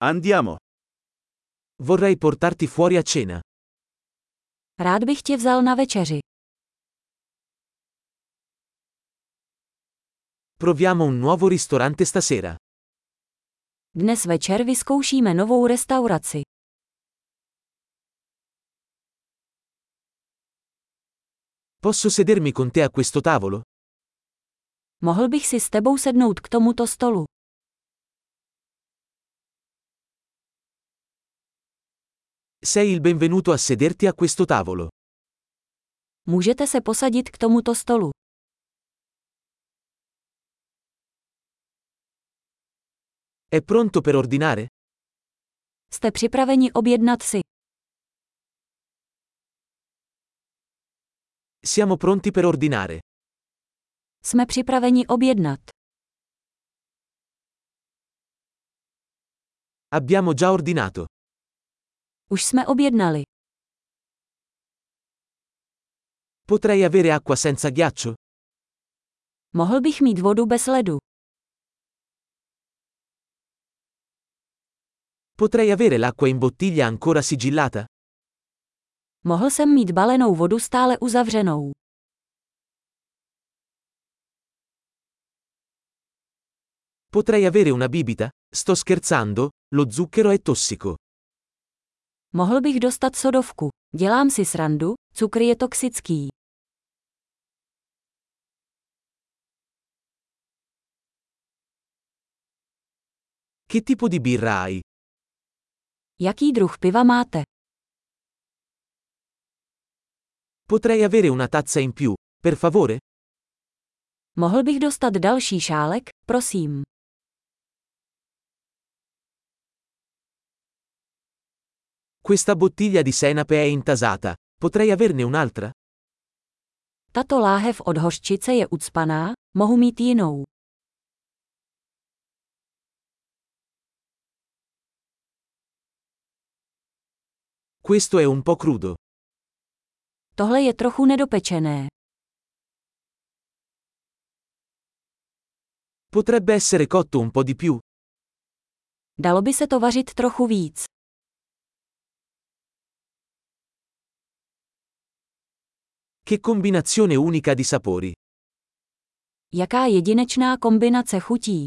Andiamo. Vorrei portarti fuori a cena. Rád bych tě vzal na večeři. Proviamo un nuovo ristorante stasera. Dnes večer vyzkoušíme novou restauraci. Posso sedermi con te a questo tavolo? Mohl bych si s tebou sednout k tomuto stolu. Sei il benvenuto a sederti a questo tavolo. Můžete se posadit k tomuto stolu. È pronto per ordinare? Jste připraveni objednat si? Siamo pronti per ordinare. Jsme připraveni objednat. Abbiamo già ordinato. Už jsme objednali. Potrei avere acqua senza ghiaccio? Mohl bych mít vodu bez ledu. Potrei avere l'acqua in bottiglia ancora sigillata? Mohl jsem mít balenou vodu stále uzavřenou. Potrei avere una bibita? Sto scherzando, lo zucchero è tossico. Mohl bych dostat sodovku. Dělám si srandu, cukr je toxický. Che tipo di birra hai? Jaký druh piva máte? Potrei avere una tazza in più, per favore? Mohl bych dostat další šálek, prosím. Questa bottiglia di senape è intasata. Potrei averne un'altra? Tato láhev od hořčice je ucpaná, mohu mít jinou. Questo è un po' crudo. Tohle je trochu nedopečené. Potrebbe essere cotto un po' di più. Dalo by se to vařit trochu víc. Che combinazione unica di sapori. Jaká jedinečná kombinace chutí.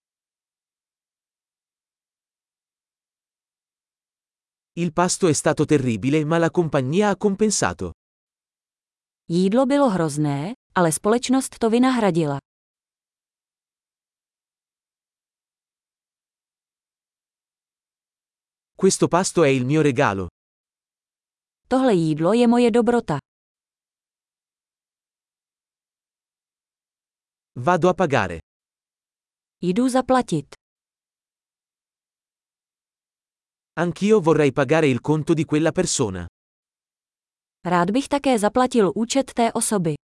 Il pasto è stato terribile, ma la compagnia ha compensato. Jídlo bylo hrozné, ale společnost to vynahradila. Questo pasto è il mio regalo. Tohle jídlo je moje dobrota. Vado a pagare. Jdu zaplatit. Anch'io vorrei pagare il conto di quella persona. Rád bych také zaplatil účet té osoby.